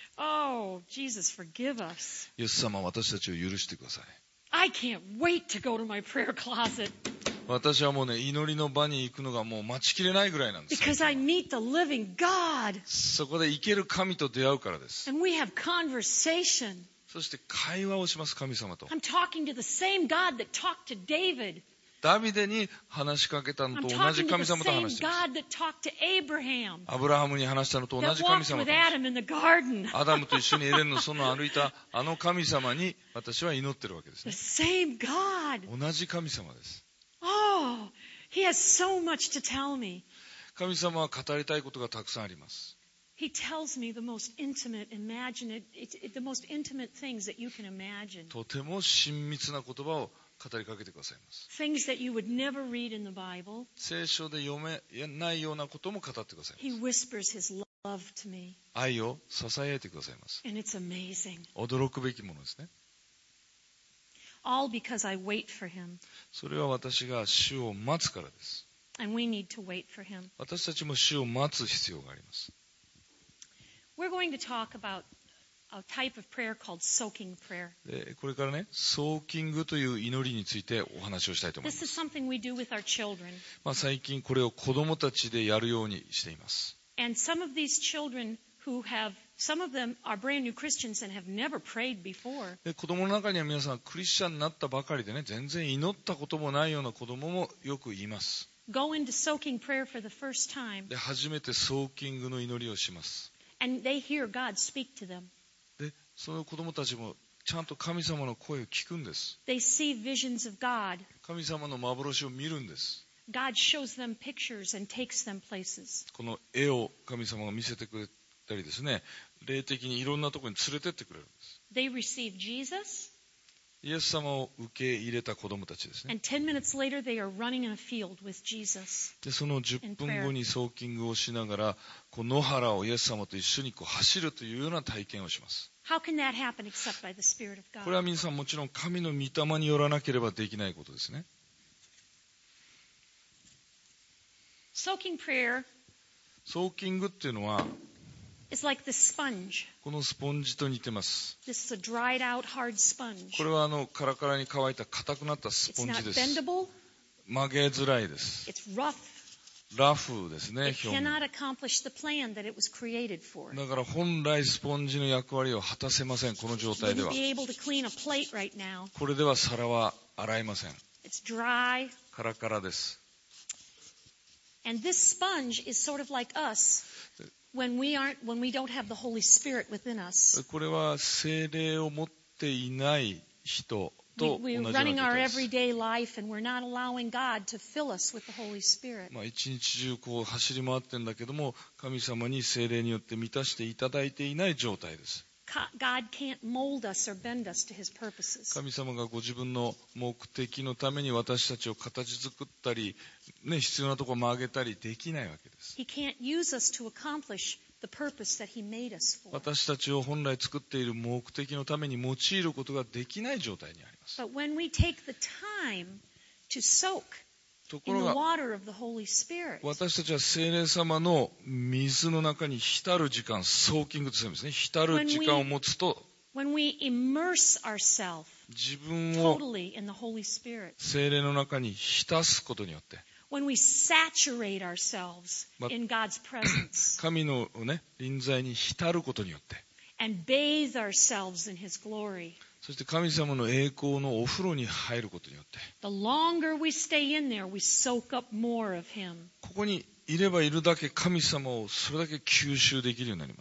Oh, Jesus, forgive us. イエス様、私たちを許してください。 I can't wait to go to my prayer closet 私はもうね、祈りの場に行くのがもう待ちきれないぐらいなんです。 because I meet the living God そこで生ける神と出会うからです。 and we have conversation. そして会話をします、神様と。 I'm talking to the same God that talked to David. ダビデに話しかけたの I'm と同 talking じ to 神 the 様と same 話しています。 God that talked to Abraham. アブラハムに話したのと同 That じ神 walked 様 with と話してい Adam in the garden. ます。アダムと一緒にエデンの園を歩いたあの神様に私は祈ってるわけです The ね。 same God. 同じ神様です。 Oh, He has so much to tell me. 神様は語りたいことがたくさんあります。 He tells me the most intimate, imagine it, it, it, the most intimate things that you can imagine. とても親密な言葉を語りかけてくださいます。 Things that you would never read in the Bible. 聖書で読めないようなことも語ってくださいま He す。 whispers his love to me. 愛を囁いてくださいます。 And it's amazing. 驚くべきものですね。 All because I wait for him. それは私が主を待つからです。 And we need to wait for him. 私たちも主を待つ必要があります。 We're going to talk about a type of prayer called soaking prayer. でこれからね、ソーキングという祈りについてお話をしたいと思いま This す。 is something we do with our children. まあ、最近これを子供たちでやるようにしています。 And some of these children who have, some of them are brand new Christians and have never prayed before. で子供の中には皆さんクリスチャンになったばかりでね、全然祈ったこともないような子供もよくいます。 Go into soaking prayer for the first time. で初めてソーキングの祈りをします。 And they hear God speak to them. でその子供たちもちゃんと神様の声を聞くんです。 They see visions of God. 神様の幻を見るんです。 God shows them pictures and takes them places. この絵を神様が見せてくれたりですね、霊的にいろんなところに連れてってくれるんです。 They receive Jesus, イエス様を受け入れた子供たちですね。 and ten minutes later they are running in a field with Jesus. でそのじゅっぷんごにソーキングをしながらこう野原をイエス様と一緒にこう走るというような体験をします。 How can that happen except by the Spirit of これは God? 皆さんもちろん神の御霊によらなければできないことですね。 Soaking prayer ソーキングっていうのは is like the sponge. このスポンジと似てます。 This is a dried out hard sponge. これはあのカラカラに乾いた硬くなったス It's ポン not ジです。 bendable. 曲げづらいです。 It's rough. ラフですね、 It 表面。 cannot accomplish the plan that it was created for. だから本来スポンジの役割を果たせません、この状態で Wouldn't は。 be able to clean a plate right now. これでは皿は洗えません。 It's dry. カラカラです。 And this sponge is sort of like us when we aren't, when we don't have the Holy Spirit within us. これは聖霊を持っていない人 We, と同じよ we're うな状 running our 態です。 everyday life and we're not allowing God to fill us with the Holy Spirit. まあ、一日中こう走り回ってるんだけども、神様に聖霊によって満たしていただいていない状態です。 Co- God can't mold us or bend us to His purposes. 神様がご自分の目的のために私たちを形作ったり、ね、必要なところを曲げたりできないわけです。 He can't use us to accomplish the purpose that He made us for. 私たちを本来作っている目的のために用いることができない状態にあります。 But when we take the time to soak とこ in ろ the が water of the Holy Spirit, 私たちは聖霊様の水の中に浸る時間、ソーキングとするんですね。浸る時間を持つと when we immerse ourselves 自分を totally in the Holy Spirit, 聖霊の中に浸すことによって when we saturate ourselves But- in God's presence 神の、ね、臨在に浸ることによって and bathe ourselves in His glory, そして神様の栄光のお風呂に入ることによって the longer we stay in there, we soak up more of Him. ここにいればいるだけ神様をそれだけ吸収できるようになります。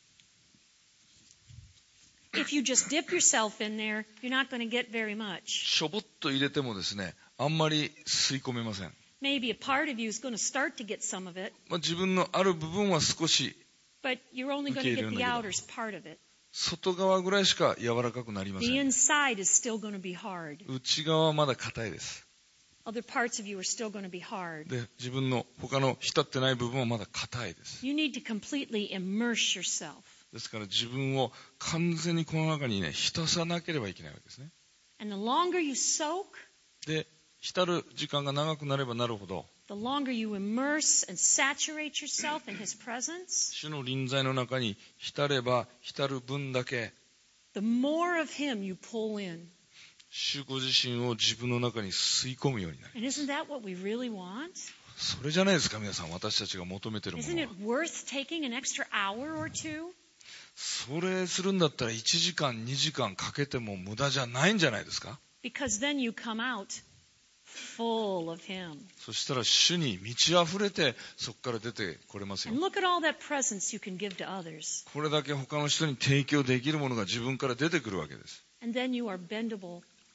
If you just dip yourself in there, you're not going to get very much. しょぼっと入れてもですね、あんまり吸い込めません。 Maybe a part of you is going to start to get some of it, まあ、自分のある部分は少し but you're only going to get the outer part of it. 外側ぐらいしか柔らかくなりませ The ん。 inside is still going to be hard. 内側はまだ硬いです。 Other parts of you are still going to be hard. で、自分の他の浸ってない部分はまだ硬いです。 You need to completely immerse yourself. ですから自分を完全にこの中にね、浸さなければいけないわけですね。 And the longer you soak, で、浸る時間が長くなればなるほど、 the longer you immerse and saturate yourself in His presence, 主の臨在の中に浸れば浸る分だけ、 the more of Him you pull in. 主ご自身を自分の中に吸い込むようになる。 And isn't that what we really want? それじゃないですか、皆さん、私たちが求めているも Isn't の it は。 worth taking an extra hour or two? それするんだったらいちじかん、にじかんかけても無駄じゃないんじゃないですか。 Because then you come out full of Him. そしたら主に満ち溢れてそこから出てこれますよ。 And look at all that presence you can give to others. これだけ他の人に提供できるものが自分から出てくるわけです。 And then you are bendable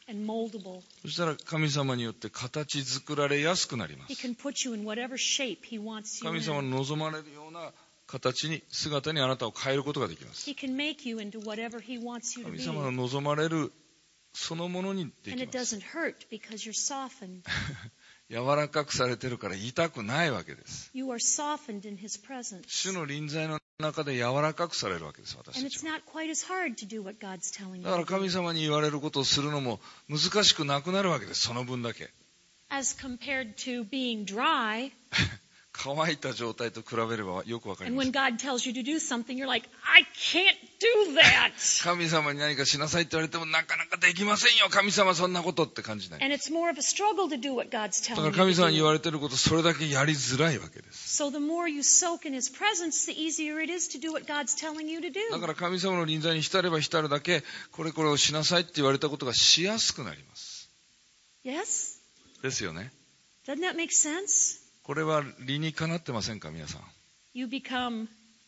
and moldable. そしたら神様によって形作られやすくなりま He す。 can put you in whatever shape He wants you 神様の in. 望まれるような形に、姿にあなたを変えることができます。 He can make you into whatever He wants you to 神 be. 様の望まれるそのものにで And き it ます。 doesn't hurt because you're softened. 柔らかくされてるから痛くないわけです。 You are softened in His presence. 主の臨在の中で柔らかくされるわけです、私 And た it's ちは。 not quite as hard to do what God's telling you だから to 神 do 様に言われることをするのも難しくなくなるわけです、その分だけ。 as compared to being dry. 乾いた状態と比べればよくわかり And ま when す。 God tells you to do something, you're like, I can't do that. 神様に何かしなさいって言われてもなかなかできませんよ、神様そんなことって感じない。 And it's more of a struggle to do what God's だか telling ら you 神 to 様に言 do. われてることそれだけやりづらいわけです。 So the more you soak in His presence, the easier it is to do what God's telling you to だか do. ら神様の臨在に浸れば浸るだけこれこれをしなさいって言われたことがしやすくなります。 Yes? ですよね。 Doesn't that make sense? これは理にかなってませんか皆さん。 You become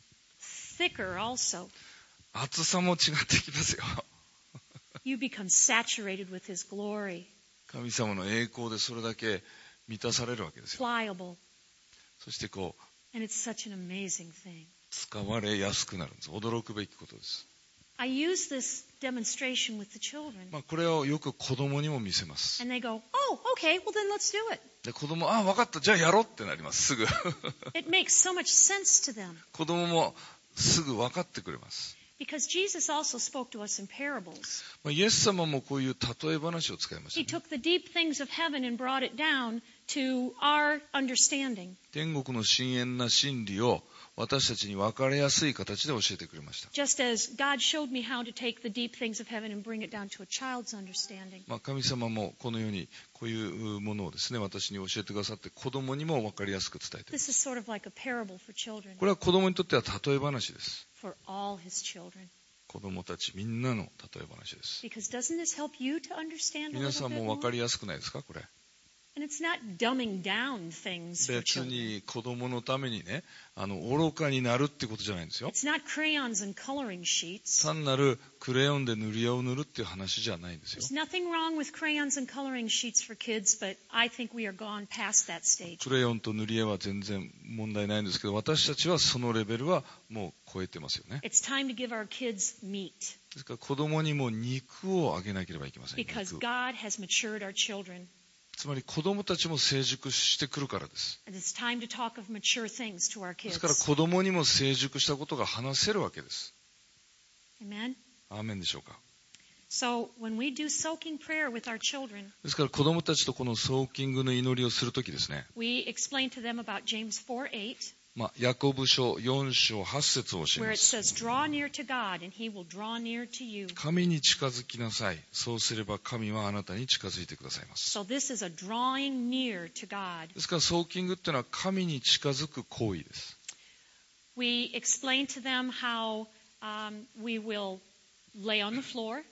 thicker also. 厚さも違ってきますよ。 You become saturated with His glory, 神様の栄光でそれだけ満たされるわけですよ。 pliable. そしてこう And it's such an amazing thing. 使われやすくなるんです。驚くべきことです。 I use this demonstration with the children. まあ、これをよく子供にも見せます。 And they go, oh, okay, well then let's do it. で子供、ああ分かった、じゃあやろうってなります。すぐ。 It makes so much sense to them. 子供もすぐ分かってくれます。 Because Jesus also spoke to us in parables. まあ、イエス様もこういう例え話を使いま He した、ね。 took the deep things of heaven and brought it down to our understanding. 天国の深遠な真理を私たちに分かりやすい形で教えてくれました。 Just as God showed me how to take the deep things of heaven and bring it down to a child's understanding. まあ、神様もこのようにこういうものをですね、私に教えてくださって子供にも分かりやすく伝えています。 This is sort of like a parable for children, これは子供にとっては例え話です。 for all His children. 子供たちみんなの例え話です。 Because doesn't this help you to understand a 皆 little さん bit も分か more? りやすくないですかこれ。 And it's not dumbing down things for 別 children. に子供のためにね、あの愚かになるってことじゃないんですよ。 It's not crayons and coloring sheets. 単なるクレヨンで塗り絵を塗るっていう話じゃないんですよ。 There's nothing wrong with crayons and coloring sheets for kids, but I think we are gone past that stage. クレヨンと塗り絵は全然問題ないんですけど、私たちはそのレベルはもう超えてますよね。 It's time to give our kids meat ですから子供にも肉をあげなければいけません。 because 肉 God has matured our children. つまり子供たちも成熟してくるからです。 And it's time to talk of mature things to our ですから kids. 子供にも成熟したことが話せるわけです。 Amen? アーメンでしょうか。 So when we do soaking prayer with our children, ですから子供たちとこのソーキングの祈りをするときですね、 we explain to them about James four eight, まあ、ヤコブ書よん章はち節を教え where ま it す。 says, draw near to God and He will draw near to you. 神に近づきなさい。そうすれば神はあなたに近づいてくださいます。 So this is a drawing near to God. ですからソーキングっていうのは神に近づく行為です。 We explain to them how um, we will lay on the floor.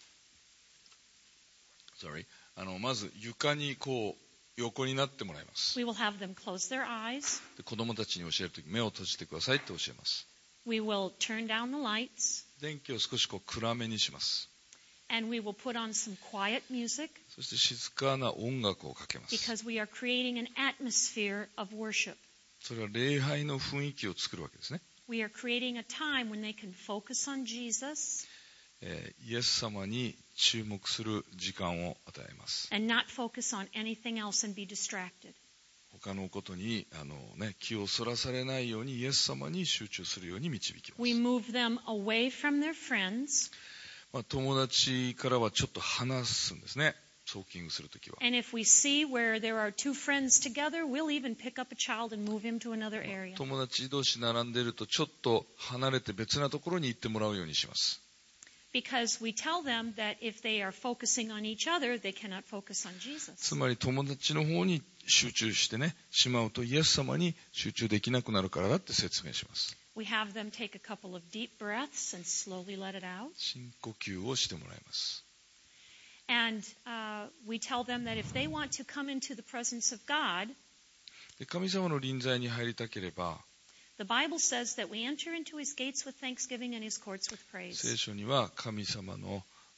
Sorry. あのまず床にこう横になってもらいます。 We will have them close their eyes. で子供たちに教えるとき目を閉じてくださいって教えます。 We will turn down the lights. 電気を少しこう暗めにします。 And we will put on some quiet music そして静かな音楽をかけます。 because we are creating an atmosphere of worship. それは礼拝の雰囲気を作るわけですね。 We are creating a time when they can focus on Jesus えーイエス様に注目する時間を与えます。 and not focus on anything else and be distracted. 他のことにあの、ね、気をそらされないようにイエス様に集中するように導きま We す。 move them away from their friends. まあ、友達からはちょっと離すんですね。ソーキングするときは。 And if we see where there are two friends together, we'll even pick up a child and move him to another area. 友達同士並んでいるとちょっと離れて別なところに行ってもらうようにします。 Because we tell them that if they are focusing on each other, they cannot focus on つ Jesus. まり友達の方に集中してね、しまうとイエス様に集中できなくなるからだって説明します。 We have them take a couple of deep breaths and slowly let it out. 深呼吸をしてもらいます。 And uh, we tell them that if they want to come into the presence of God, で神様の臨在に入りたければ、 the Bible says that we enter into His gates with thanksgiving and His courts with 聖 praise. 書には神様の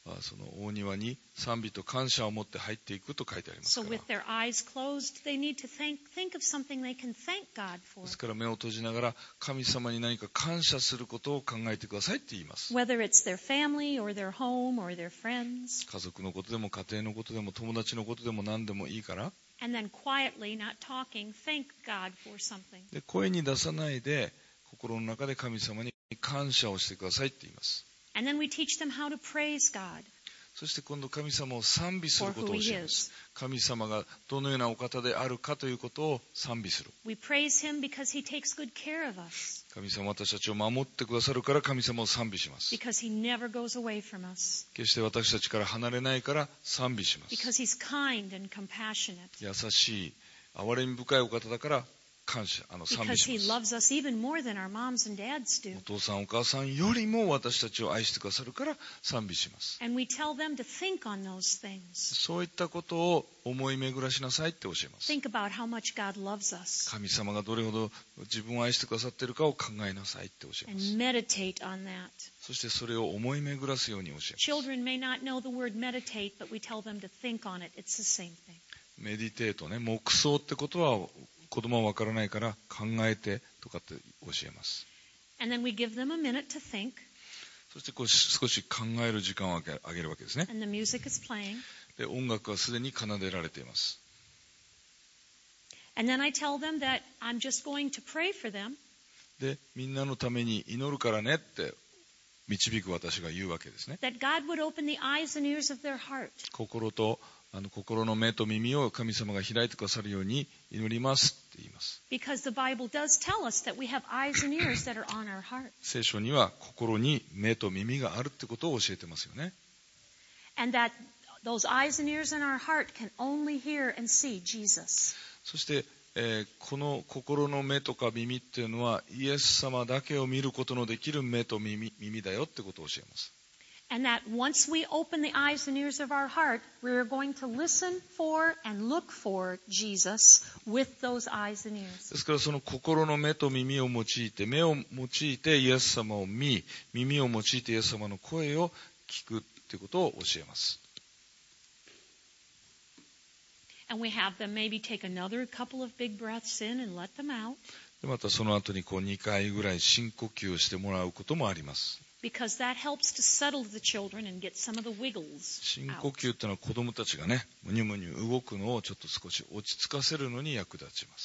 あその大庭に賛美と感謝を持って入っていくと書いてあります So から。 with their eyes closed, they need to think, think of something they can thank God で for. すから目を閉じながら神様に何か感謝することを考えてくださいって言います。 Whether it's their family or their home or their friends. 家族のことでも家庭のことでも友達のことでも何でもいいから、 And then quietly, not talking, thank God for something. で声に出さないで心の中で神様に感謝をしてくださいって言います。 And then we teach them how to praise God そして今度神様を賛美する for ことを who 教 He えます。 is. 神様がどのようなお方であるかということを賛美する。 We praise Him because He takes good care of us, 神様は私たちを守ってくださるから神様を賛美します。 because He never goes away from us, 決して私たちから離れないから賛美します。 because He's kind and compassionate, 優しい憐れみ深いお方だから感謝あの賛美 because し He ます。 loves us even more than our moms and dads do. お父さんお母さんよりも私たちを愛してくださるから賛美します。 And we tell them to think on those things. そういったことを思い巡らしなさいって教えます。 Think about how much God loves us 神様がどれほど自分を愛してくださっているかを考えなさいって教えま and す。 meditate on that. そしてそれを思い巡らすように教えます。 Children may not know the word meditate, but we tell them to think on it. It's the same thing. メディテートね、黙想ってことは子供はわからないから考えてとかって教えます。 And then we give them a minute to think, そしてこう少し考える時間をあげあげるわけですね。 and the music is playing. で音楽はすでに奏でられています。 And then I tell them that I'm just going to pray for them, でみんなのために祈るからねって導く私が言うわけですね。 that God would open the eyes and ears of their heart, 心とあの心の目と耳を神様が開いてくださるように祈りますって言います。 because the Bible does tell us that we have eyes and ears that are on our heart, 聖書には心に目と耳があるってことを教えてますよね。 and that those eyes and ears in our heart can only hear and see Jesus. そして、えーこの心の目とか耳っていうのはイエス様だけを見ることのできる目と耳、耳だよってことを教えます。 And that once we open the eyes and ears of our heart, we're going to listen for and look for Jesus with those eyes and ears. ですからその心の目と耳を用いて、目を用いてイエス様を見、耳を用いてイエス様の声を聞くってことを教えます。 And we have them maybe take another couple of big breaths in and let them out, でまたその後にこうにかいぐらい深呼吸をしてもらうこともあります。 because that helps to settle the children and get some of the wiggles 深呼 out. 吸っていうのは子供たちがね、むにゅむにゅ動くのをちょっと少し落ち着かせるのに役立ちます。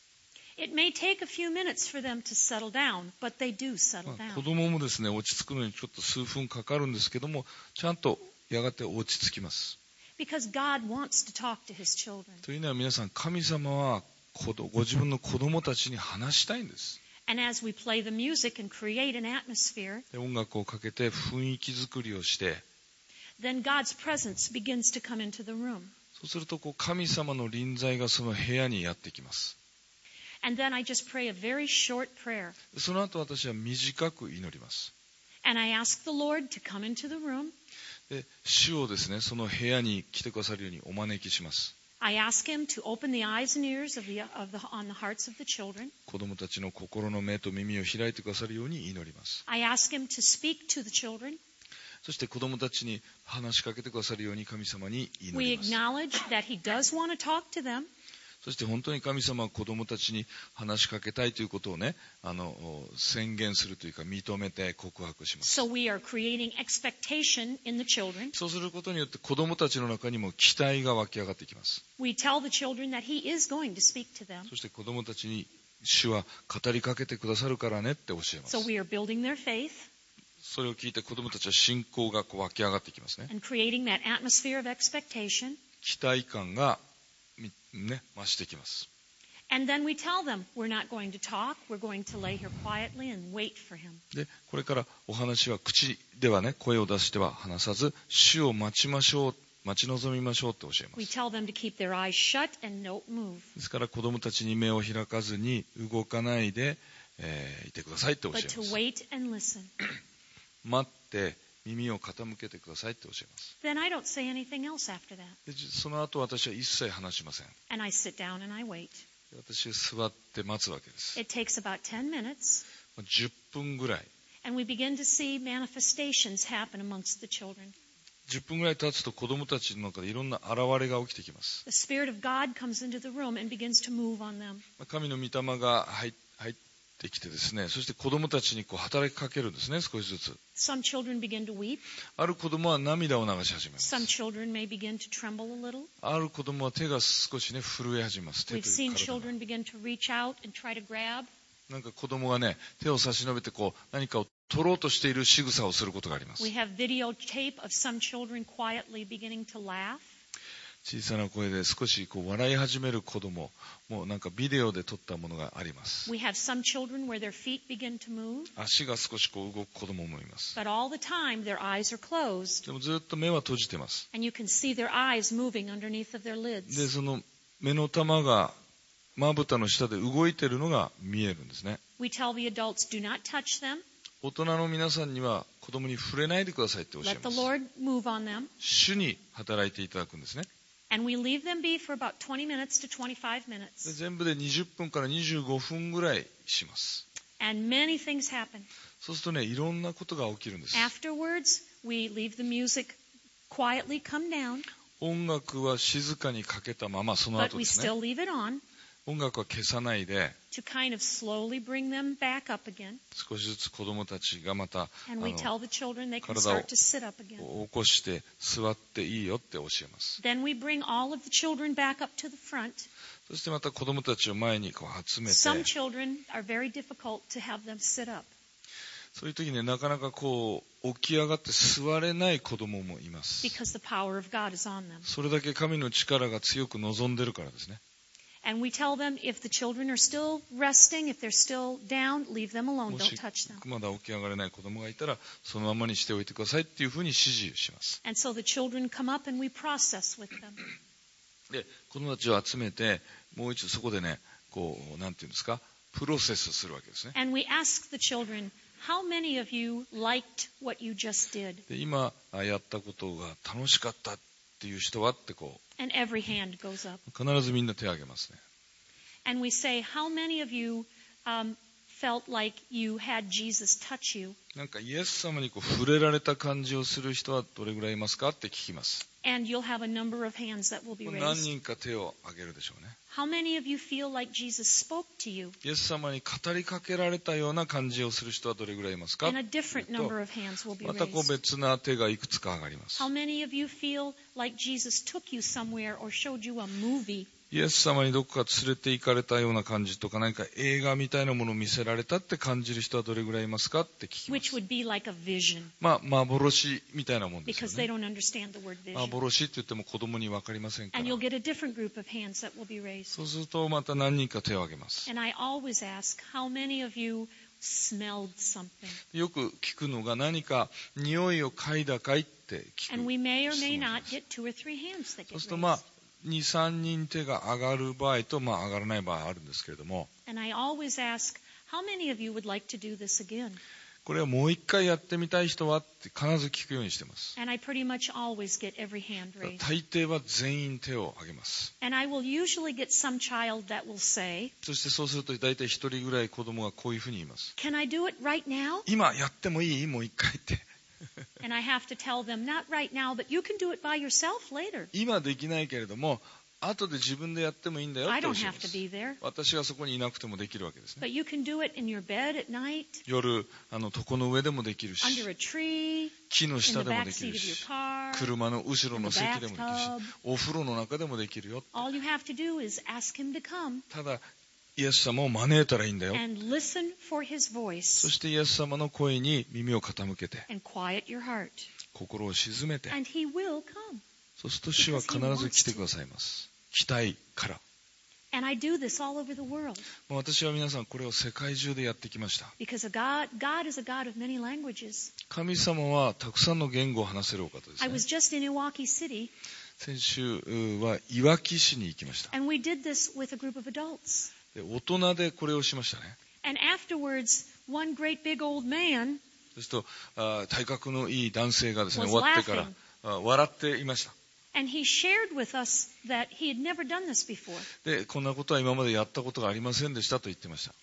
It may take a few minutes for them to settle down, but they do ま settle あ子 down. 供もですね、落ち着くのにちょっと数分かかるんですけども、ちゃんとやがて落ち着きます。 Because God wants to talk to His children. というのは皆さん、神様は子供ご自分の子供たちに話したいんです。 And as we play the music and create an atmosphere, で音楽をかけて雰囲気作りをして、 then God's presence begins to come into the room. そうするとこう神様の臨在がその部屋にやってきます。 And then I just pray a very short prayer. その後私は短く祈ります。 And I ask the Lord to come into the room. で主をですね、その部屋に来てくださるようにお招きします。 I ask Him to open the eyes and ears of the, of the, on the hearts of the children. 子供たちの心の目と耳を開いてくださるように祈ります。 I ask Him to speak to the children. そして子供たちに話しかけてくださるように神様に祈 We ります。 acknowledge that He does want to talk to them. そして本当に神様は子供たちに話しかけたいということをね、あの宣言するというか認めて告白します。 So we are creating expectation in the children. そうすることによって子供たちの中にも期待が湧き上がってきます。 We tell the children that He is going to speak to them. そして子供たちに主は語りかけてくださるからねって教えます。 So we are building their faith それを聞いて子供たちは信仰がこう湧き上がってきますね。 and creating that atmosphere of expectation. 期待感が、ね、増してきます。 And then we tell them we're not going to talk. We're going to lay here quietly and wait for Him. でこれからお話は口ではね、声を出しては話さず、主を待ちましょう、待ち望みましょうって教えま We す。 tell them to keep their eyes shut and don't move. ですから子供たちに目を開かずに動かないで、えーいてくださいって教え But ま to す。 wait and listen. 待って耳を傾けてくださいって教えます。 Then I don't say anything else after that. でその後私は一切話しません。 And I sit down and I wait. で私は座って待つわけです。 It takes about ten minutes. じゅっぷんぐらい。 And we begin to see manifestations happen amongst the children. じゅっぷんぐらい経つと子供たちの中でいろんな現れが起きてきます。 The Spirit of God comes into the room and begins to move on them. 神の御霊が入入ってきてですね、そして子供たちにこう働きかけるんですね、少しずつ。 Some children begin to weep. ある子供は涙を流し始めます。 Some children may begin to tremble a little. ある子供は手が少しね震え始めます。手 We've と seen いう体が children begin to reach out and try to grab. なんか子供がね手を差し伸べてこう何かを取ろうとしている仕草をすることがあります。 We have videotape of some children quietly beginning to laugh. 小さな声で少しこう笑い始める子供もうなんかビデオで撮ったものがあります。 We have some children where their feet begin to move, 足が少しこう動く子供もいます。 but all the time their eyes are closed, でもずっと目は閉じてます。 and you can see their eyes moving underneath of their で lids. その目の玉がまぶたの下で動いているのが見えるんですね。 We tell the adults, do not touch them. 大人の皆さんには子供に触れないでくださいって教え Let ま the す。 Lord move on them. 主に働いていただくんですね。 And we leave them be for about twenty minutes to twenty-five で minutes. 全部でにじゅっぷんからにじゅうごふんぐらいします。 And many things happen. そうするとねいろんなことが起きるんです。 Afterwards, we leave the music quietly come down, 音楽は静かにかけたままその but 後 we ですね。 still leave it on 音楽は消さないで to kind of slowly bring them back up again. 少しずつ子供たちがまたあ And we の tell the children they can 体を start to sit up again. 起こして座っていいよって教えます。 Then we bring all of the children back up to the front. そしてまた子供たちを前にこう集めて Some children are very difficult to have them sit up. そういう時になかなかこう起き上がって座れない子供もいます。 Because the power of God is on them. それだけ神の力が強く望んでるからですね。 And we tell them if the children are still resting, if they're still down, leave them alone. も Don't し touch them. まだ起き上がれない子供がいたらそのままにしておいてくださいっていうふうに指示します。 And so the children come up and we process with them. で子供たちを集めてもう一度そこでねこうなんていうんですかプロセスするわけですね。 And we ask the children, how many of you liked what you just did? で今やったことが楽しかったっていう人はってこ And every hand goes up. う必ずみんな手を挙げますね。 And we say, how many of you um, felt like you had Jesus touch you? なんかイエス様にこう触れられた感じをする人はどれぐらいいますかって聞きます。 And you'll have a number of hands that will be 何 raised. 人か手を挙げるでしょうね。 How many of you feel like Jesus spoke to you? イエス様に語りかけられたような感じをする人はどれぐらいいますか And a different number of hands will be またこう raised. 別な手がいくつか上がります。 How many of you feel like Jesus took you somewhere or showed you a movie? イエス様にどこか連れて行かれたような感じとか何か映画みたいなものを見せられたって感じる人はどれぐらいいますかって聞きま Which す。 would be like a vision まあ幻みたいなもんですよ because they ね。 don't understand the word vision. 幻って言っても子供に分かりませんか And ら you'll。get a different group of hands that will be raised. そうするとまた何人か手を挙げます。 And I always ask, how many of you smelled something? よく聞くのが何か匂いを嗅いだかいって聞く。 And we may or may 質問 not です。 get two or three hands that そう get するとまあ raised. に、さんにん手が上がる場合とまあ上がらない場合あるんですけれども、 And I always ask, how many of you would like to do this again? これをもう一回やってみたい人はって必ず聞くようにしてます。 And I pretty much always get every hand raised. 大抵は全員手を挙げます。 And I will usually get some child that will say, そしてそうすると大体一人ぐらい子供がこういうふうに言います。 can I do it right now? 今やってもいい？もう一回って。 And I have to tell them, not right now, but you can do it by yourself later. 今できないけれども、後で自分でやってもいいんだよっ I て教 don't えま have to す。 be there. 私がそこにいなくてもできるわけですね。 But you can do it in your bed at night, 夜、あの床の上でもできる under し、 a tree, 木の in 下 the でも back でき seat る of your し、 car. 車の後ろ in の the 席でもできる bathtub. し、お風呂の中でもできるよ。 All you have to do is ask him to come ただ、イエス様を招いたらいいんだよ。 and listen for his そ voice してイエス様の声に耳を傾けて、 and quiet your heart. 心を静めて、 And he will come. そうすると主は必ず来てくださいます。来たいから。 And I do this all over the world もう私は皆さんこれを世界中でやってきました。 because a God, God is a God of many languages. 神様はたくさんの言語を話せるお方です I ね。 was just in Iwaki City, 先週はいわき市に行きました。 and we did this with a group of adults. で大人でこれをしましたね。 And afterwards, one great big old man そうするとあ体格のいい男性がですね was 終わってから laughing. あ笑っていました。 And he shared with us that he had never done this before. でこんなことは今までやったことがありませんでしたと言ってました。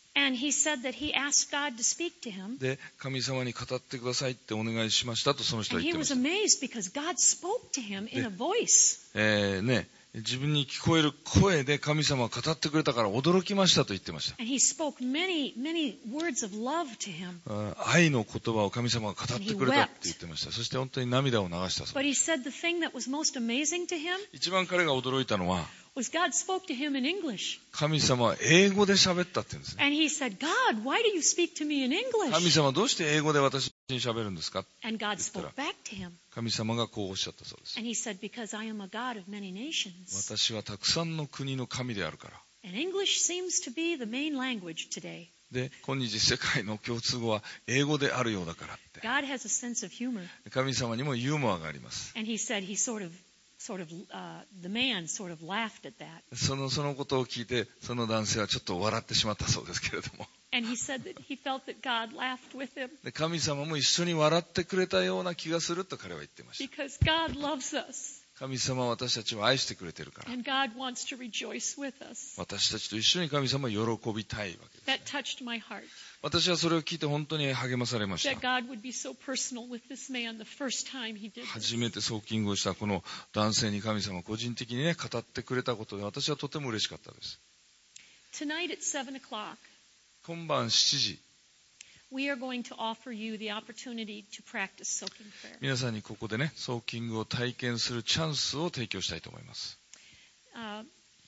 And he said that he asked God to speak to him. で、神様に語ってくださいってお願いしましたとその人は And 言っ he てま was した。 amazed because God spoke to him in a voice. えーね、自分に聞こえる声で神様が語ってくれたから驚きましたと言ってました。 And he spoke many, many words of love to him. あ愛の言葉を神様が語ってくれたって言ってました。そして本当に涙を流したそう But で he す。 said the thing that was most amazing to him 一番彼が驚いたのは、 was God spoke to him in English. 神様は英語で喋ったって言うんですね。 And he said, God, why do you speak to me in 神 English? 様どうして英語で私に喋るんですか？ And God spoke back to him. 神様がこうおっしゃったそうです。 And he said, because I am a God of many nations. 私はたくさんの国の神であるから。 And English seems to be the main language today. で、今日世界の共通語は英語であるようだからって。 God has a sense of humor. 神様にもユーモアがあります。 And he said he sort of, sort of, uh, the man sort of laughed at that. その、そのことを聞いて、その男性はちょっと笑ってしまったそうですけれども。 And he said that he felt that God laughed with him で、神様も一緒に笑ってくれたような気がすると彼は言ってました。 because God loves us 神様は私たちを愛してくれてるから。 and God wants to rejoice with us. 私たちと一緒に神様を喜びたいわけですね。 That touched my heart. 私はそれを聞いて本当に励まされまし That た。 God would be so personal with this man the first time he did this. 初めてソーキングをしたこの男性に神様個人的にね語ってくれたことで私はとても嬉しかったです。 Tonight at seven o'clock, 今晩しちじ、 we are going to offer you the opportunity to practice soaking prayer. 皆さんにここでねソーキングを体験するチャンスを提供したいと思います。 Uh,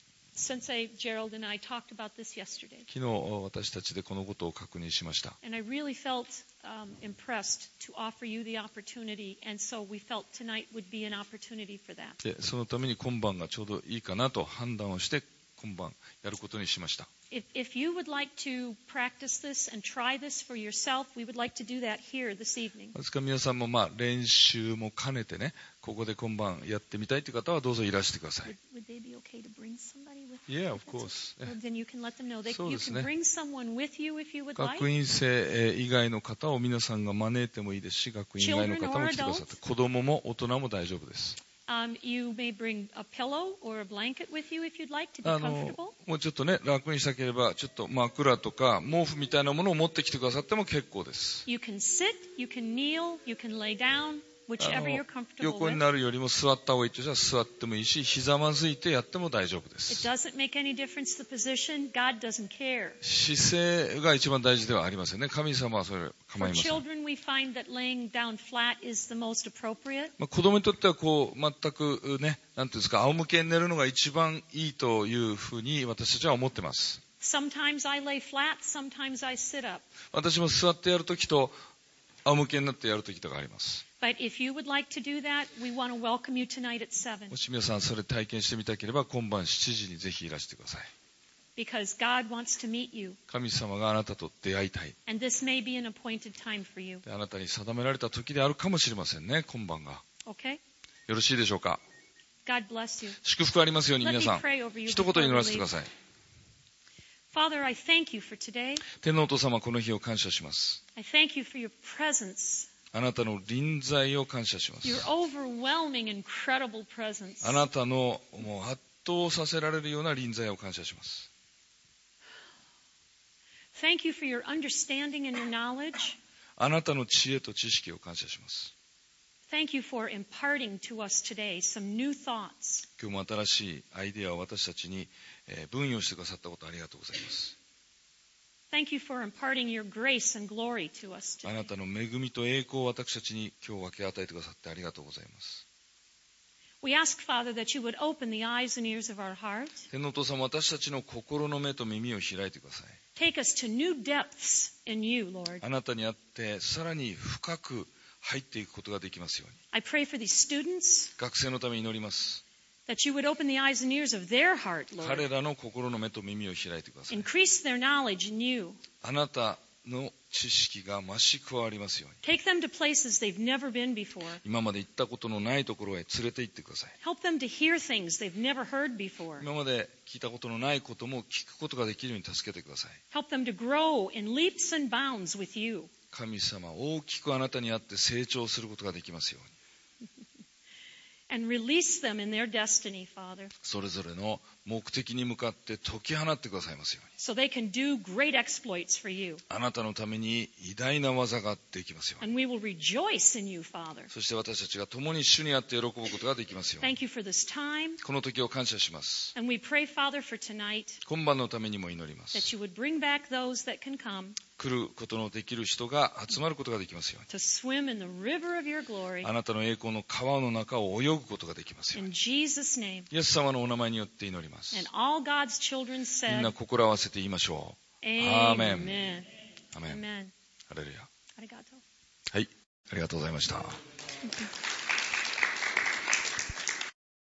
Sensei Gerald and I talked about this yesterday. 昨日私たちでこのことを確認しました。 And I really felt um, impressed to offer you the opportunity, and so we felt tonight would be an opportunity for that. でそのために今晩がちょうどいいかなと判断をして今晩やることにしました。 If, if you would like to practice this and try this for yourself, we would like to do that here this evening. ですから皆さんもまあ練習も兼ねてねここで今晩やってみたいという方はどうぞいらしてください。 Would, would they be okay to bring somebody with Yeah, you? of course. Well, then you can let them know. They, そう you です can ね。 bring someone with you if you would like. 学院生えー以外の方を皆さんが招いてもいいですし、学院以外の方も来てくださって、子供も大人も大丈夫です。 Um, you may bring a pillow or a blanket with you if you'd like to be あの comfortable. もうちょっとね楽にしたければちょっと枕とか毛布みたいなものを持ってきてくださっても結構です。 You can sit, you can kneel, you can lay down, あ whichever の you're comfortable 横に with. なるよりも座った方がいいとしたら座ってもいいし、ひざまずいてやっても大丈夫で It す。 doesn't make any difference the position. God doesn't care. 姿勢が一番大事ではありませんね。神様はそれ構 For いません。 children, we find that laying down flat is the most appropriate. まあ、子供にとってはこう全くね、なんていうんですか、仰向けに寝るのが一番いいというふうに私たちは思ってます。 Sometimes I lay flat, sometimes I sit up. 私も座ってやるときと仰向けになってやるときとかあります。 But if you would like to do that, we want to welcome you tonight at seven. もし皆さんそれ体験してみたければ今晩しちじにぜひいらしてください。 Because God wants to meet you. 神様があなたと出会いたい。 And this may be an appointed time for you. であなたに定められた時であるかもしれませんね、今晩が。 Okay? よろしいでしょうか。 God bless you. 祝福ありますように Let 皆 me さん。 pray over you 一 before 言 we 祈らせてく leave. ださい。 Father, I thank you for today. 天皇お父様、この日を感謝します。 I thank you for your presence. あなたの臨在を感謝します。 Your overwhelming, incredible presence. あなたのもう圧倒させられるような臨在を感謝します。 Thank you for your understanding and your knowledge. あなたの知恵と知識を感謝します。 Thank you for imparting to us today some new thoughts. 今日も新しいアイデアを私たちにえー分与してくださったことありがとうございます。 Thank you for imparting your grace and glory to us あな today. たの恵みと栄光を私たちに今日分け与えてくださってありがとうございます。 We ask, Father, that you would open the eyes and ears of our heart. 天皇お父様、私たちの心の目と耳を開いてください。 Take us to new depths in you, Lord. あなたにあってさらに深く入っていくことができますように。 I pray for these students 学生のために祈ります。 that you would open the eyes and ears of their heart, 彼 Lord. らの心の目と耳を開いてください。 Increase their knowledge in you. あなたの知識が増し加わりますように。 Take them to places they've never been before. 今まで行ったことのないところへ連れて行ってください。 Help them to hear things they've never heard before. 今まで聞いたことのないことも聞くことができるように助けてください。 Help them to grow in leaps and bounds with you. 神様、大きくあなたにあって成長することができますように。 And release them in their destiny, Father. それぞれの目的に向かって解き放ってくださいますように。 so they can do great exploits for you. あなたのために偉大な技ができますように。 And we will rejoice in you, Father. そして私たちが共に主にあって喜ぶことができますように。 Thank you for this time. この時を感謝します。 And we pray, Father, for tonight, 今晩のためにも祈りま that す。 you would bring back those that can come 来ることのできる人が集まることができますように。 to swim in the river of your glory. あなたの栄光の川の中を泳ぐことができますよう In に。 Jesus' name. イエス様のお名前によって祈ります。 And all God's children みん said, な心合わせて言いましょう。 Amen. Amen. Amen. アメン。 Amen. ハレルヤ。 Arigato. はい、ありがとうございました。 Thank you.